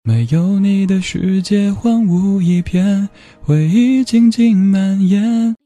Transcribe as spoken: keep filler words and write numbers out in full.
没有你的世界荒芜一片，回忆静静蔓延，